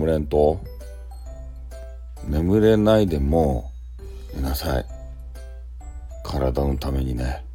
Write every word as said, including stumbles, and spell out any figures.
れんと。眠れないでも寝なさい。体のためにね。